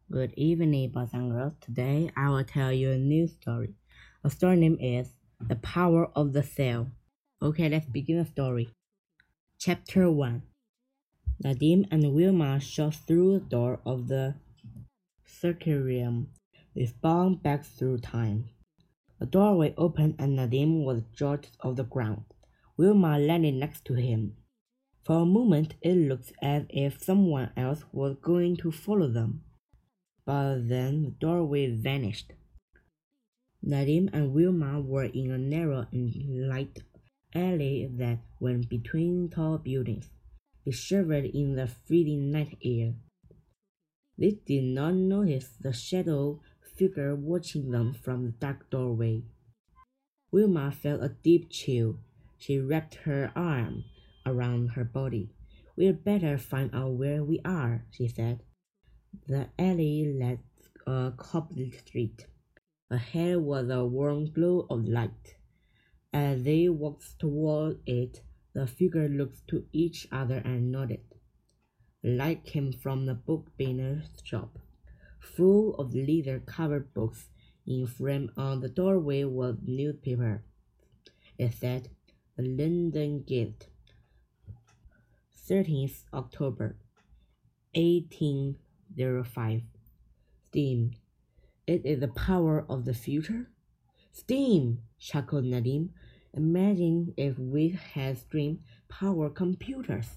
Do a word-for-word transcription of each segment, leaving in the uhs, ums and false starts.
Good evening, boys and girls. Today I will tell you a new story. The story name is The Power of the Cell. Okay, let's begin the story. Chapter one. Nadim and Wilma shot through the door of the circarium. They spun back through time. The doorway opened and Nadim was jerked off the ground. Wilma landed next to him. For a moment it looked as if someone else was going to follow them. But then the doorway vanished. Nadim and Wilma were in a narrow and light alley that went between tall buildings. They shivered in the freezing night air. They did not notice the shadow figure watching them from the dark doorway. Wilma felt a deep chill. She wrapped her arm around her body. "We'd better find out where we are," she said. The alley led a cobbled street. Ahead was a warm glow of light. As they walked toward it, the figures looked to each other and nodded. The light came from the book binder's shop, full of leather-covered books. In frame on the doorway was newspaper. It said, "The London Gazette, thirteenth October, eighteen oh five. Steam. It is the power of the future." "Steam!" chuckled Nadim. "Imagine if we had steam-powered computers."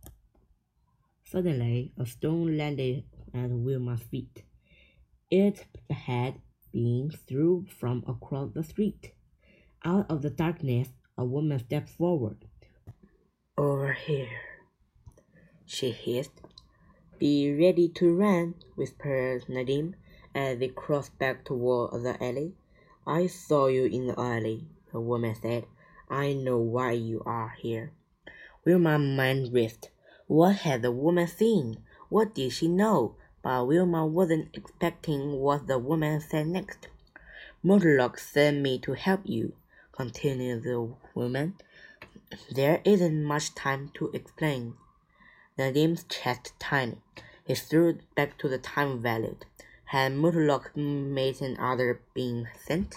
Suddenly, a stone landed at Wilma's feet. It had been thrown from across the street. Out of the darkness, a woman stepped forward. "Over here," she hissed. "Be ready to run," whispered Nadim as they crossed back toward the alley. "I saw you in the alley," the woman said. "I know why you are here." Wilma's mind raced. What had the woman seen? What did she know? But Wilma wasn't expecting what the woman said next. "Murloc sent me to help you," continued the woman. "There isn't much time to explain." Nadim's chest tightened. He threw back to the time valued. Had Murloc made another being sent?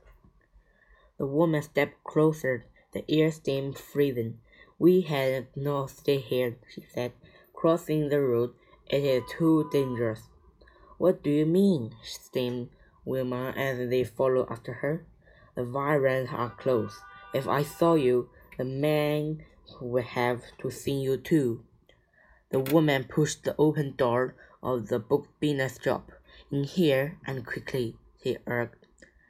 The woman stepped closer, the air seemed freezing. "We had no stay here," she said. "Crossing the road, it is too dangerous." "What do you mean?" screamed Wilma as they followed after her. "The Virans are close. If I saw you, the man would have to see you too." The woman pushed the open door of the bookbinder's shop. "In here, and quickly," she urged.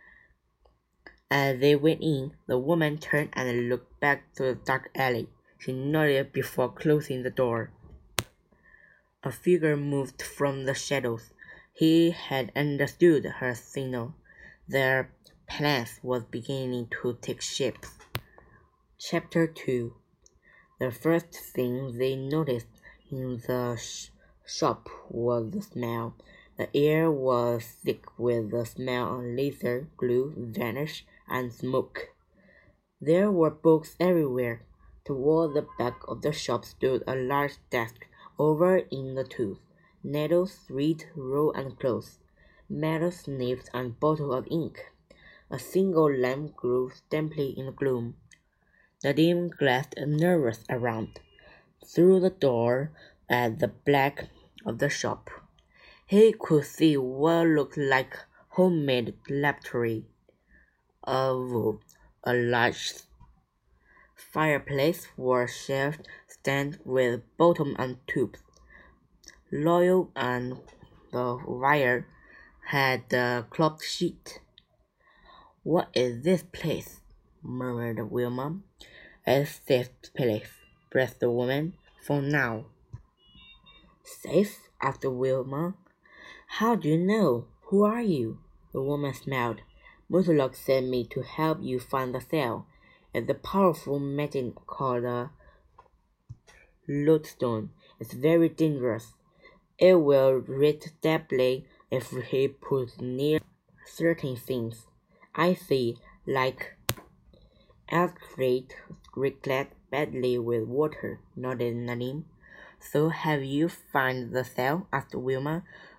As they went in, the woman turned and looked back to the dark alley. She nodded before closing the door. A figure moved from the shadows. He had understood her signal. Their plan was beginning to take shape. Chapter two. The first thing they noticed in the sh- shop was the smell. The air was thick with the smell of leather, glue, varnish, and smoke. There were books everywhere. Toward the back of the shop stood a large desk, over in the tooth, needles, thread, roll, and clothes, metal snips, and bottle of ink. A single lamp glowed dimly in the gloom. Nadim glanced nervous around, through the door at the back of the shop. He could see what looked like homemade laboratory. A room, a large fireplace was shelved stand with bottom and tubes. Loyal and the wire had the cloth sheet. "What is this place?" murmured Wilma. "A safe place," breathed the woman. "For now." "Safe?" asked Wilma. "How do you know? Who are you?" The woman smiled. "Murloc sent me to help you find the cell. It's a powerful medicine called a lodestone. It's very dangerous. It will reach deeply if he puts near certain things." "I see, like Alfred reacted badly with water," nodded Nadim. "So have you found the cell?" asked Wilma.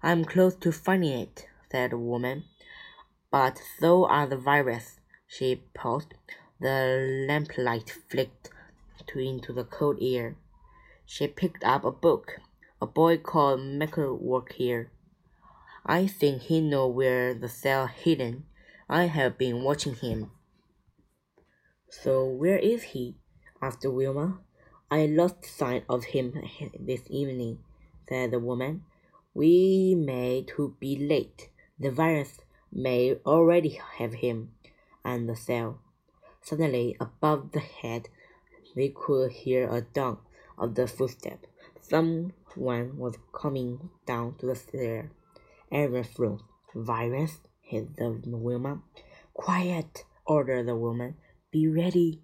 I'm close to finding it, said the woman. But so are the viruses. She paused. The lamplight flicked to into the cold air. She picked up a book. A boy called Michael worked here. I think he knows where the cell hidden. I have been watching him. So where is he? Asked Wilma. I lost sight of him this evening, said the woman. We may to be late. The virus may already have him and the cell. Suddenly, above the head, they could hear a dunk of the footstep. Someone was coming down to the stair. Everyone froze. Virus, hissed the Wilma. Quiet, ordered the woman. Be ready.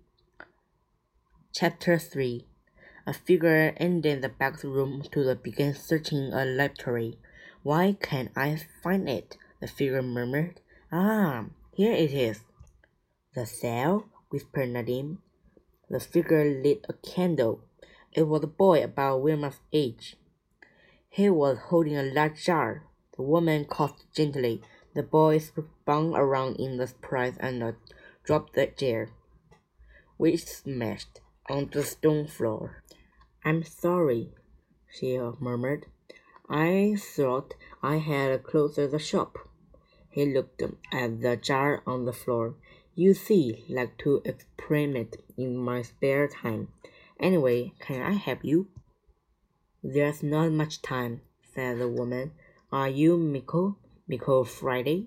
Chapter three. A figure entered the back room to begin searching a laboratory. Why can't I find it? The figure murmured. Ah, here it is. The cell? Whispered Nadine. The figure lit a candle. It was a boy about Wilma's age. He was holding a large jar. The woman coughed gently. The boy spun around in the surprise and uh, dropped the jar, which smashed onto the stone floor. I'm sorry, she murmured. I thought I had closed the shop. He looked at the jar on the floor. You see, like to experiment in my spare time. Anyway, can I help you? There's not much time, said the woman. Are you Miko? Miko Friday?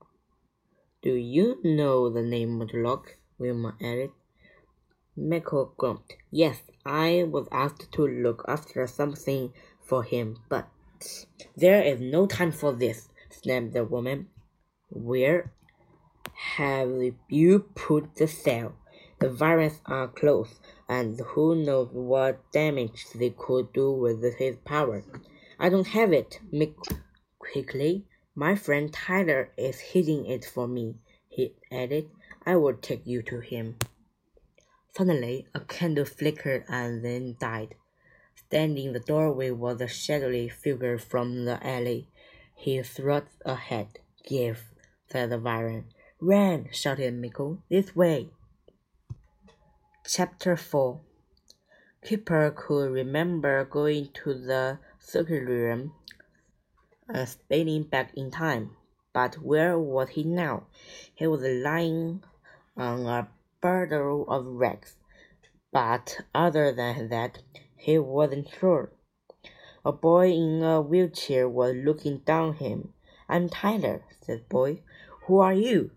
Do you know the name Murloc? Wilma added. Miko grumped. Yes, I was asked to look after something for him, but there is no time for this, snapped the woman. Where have you put the cell? The viruses are close, and who knows what damage they could do with his power. I don't have it, Mick quickly. My friend Tyler is hiding it for me, he added. I will take you to him. Suddenly, a candle flickered and then died. Standing in the doorway was a shadowy figure from the alley. He thrust ahead. Give, said the Viren. Ran, shouted Miko. This way. Chapter four. Kipper could remember going to the circuit room and spinning back in time. But where was he now? He was lying on a bundle of rags. But other than that, he wasn't sure. A boy in a wheelchair was looking down at him. I'm Tyler, said the boy. Who are you?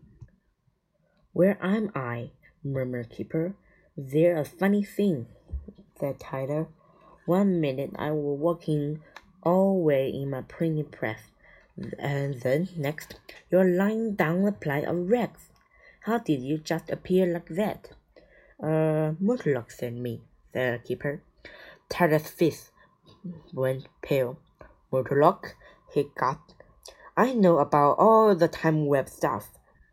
Where am I? Murmured Kipper. There's a funny thing, said Tyler. One minute I was working all the way in my printing press, and then next you're lying down a pile of rags. How did you just appear like that? Uh, Murloc sent me, said Kipper. Tyler's face went pale. Murloc, he gasped. I know about all the time web stuff.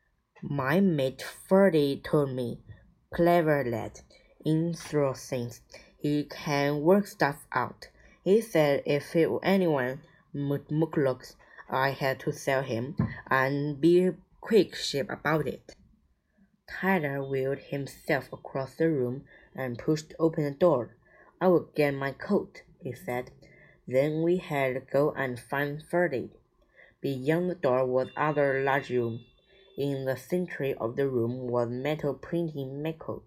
My mate Ferdy told me. Clever lad. In through things. He can work stuff out. He said if it, anyone Murloc, I had to sell him and be quick ship about it. Tyler wheeled himself across the room and pushed open the door. I will get my coat, he said. Then we had to go and find Ferdy. Beyond the door was another large room. In the center of the room was metal printing metal.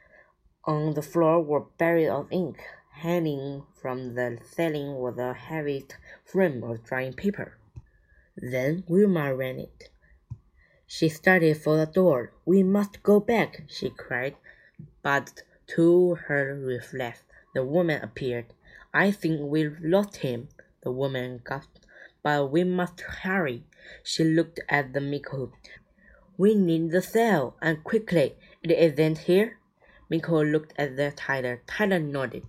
On the floor were barrels of ink. Hanging from the ceiling was a heavy frame of drying paper. Then Wilma ran it. She started for the door. We must go back, she cried. But to her reflex, the woman appeared. I think we've lost him, the woman gasped. But we must hurry. She looked at the Miko. We need the cell, and quickly. It isn't here? Miko looked at the Tyler. Tyler nodded.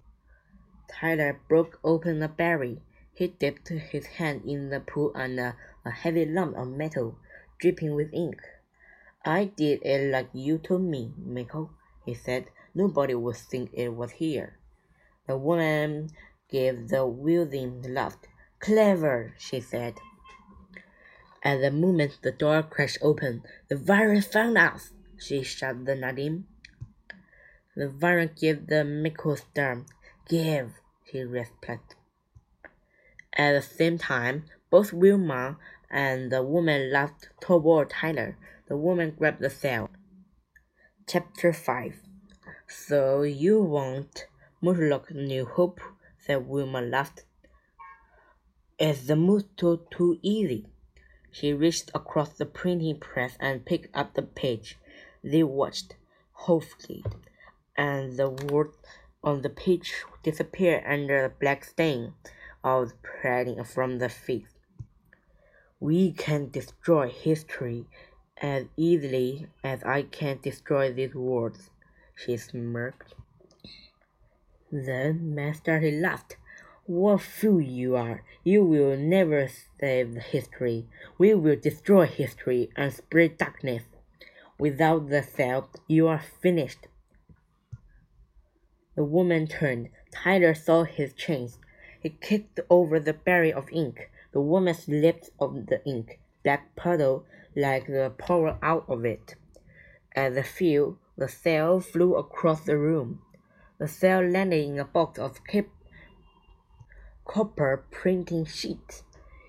Tyler broke open a berry. He dipped his hand in the pool and a, a heavy lump of metal, dripping with ink. I did it like you told me, Miko, he said. Nobody would think it was here. The woman gave the wheezing laugh. Clever, she said. At the moment the door crashed open, "The Varren found us!" she shouted at Nadim. The Varren gave the Mickle stare. "Give," he replied. At the same time, both Wilma and the woman laughed toward Tyler. The woman grabbed the cell. Chapter five. "So you want Murloc New Hope?" said Wilma laughed. "Is the motto too easy?" She reached across the printing press and picked up the page. They watched, hopefully, and the word on the page disappeared under the black stain of printing from the face. "We can destroy history as easily as I can destroy these words," she smirked. Then Master laughed. "What a fool you are! You will never save history. We will destroy history and spread darkness. Without the cell, you are finished." The woman turned. Tyler saw his chance. He kicked over the barrel of ink. The woman slipped of the ink. Black puddle like the pour out of it. At the feel, the cell flew across the room. The cell landed in a box of cap- copper printing sheets.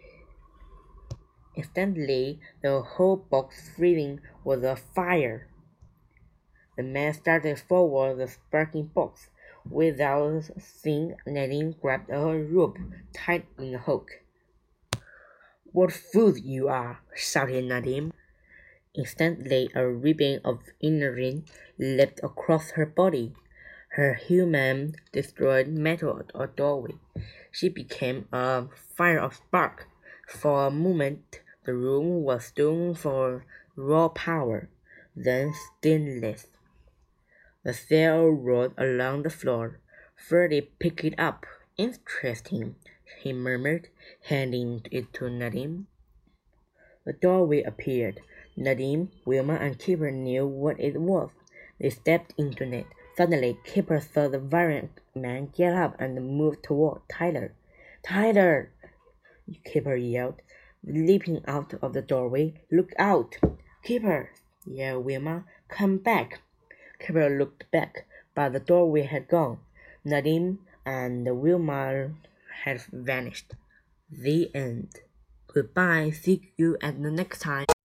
Instantly, the whole box freezing was afire. The man started forward the sparking box. Without seeing, Nadim grabbed a rope tied in a hook. "What fools you are!" shouted Nadim. Instantly, a ribbon of iron leapt across her body. Her human destroyed metal a doorway. She became a fire of spark. For a moment, the room was stone for raw power, then stainless. The cell rolled along the floor. Freddie picked it up. "Interesting," he murmured, handing it to Nadim. The doorway appeared. Nadim, Wilma, and Kipper knew what it was. They stepped into it. Suddenly, Kipper saw the Varren man get up and move toward Tyler. "Tyler!" Kipper yelled, leaping out of the doorway. "Look out!" "Kipper!" yelled Wilma. "Come back!" Kipper looked back, but the doorway had gone. Nadim and Wilma had vanished. The end. Goodbye. See you at the next time.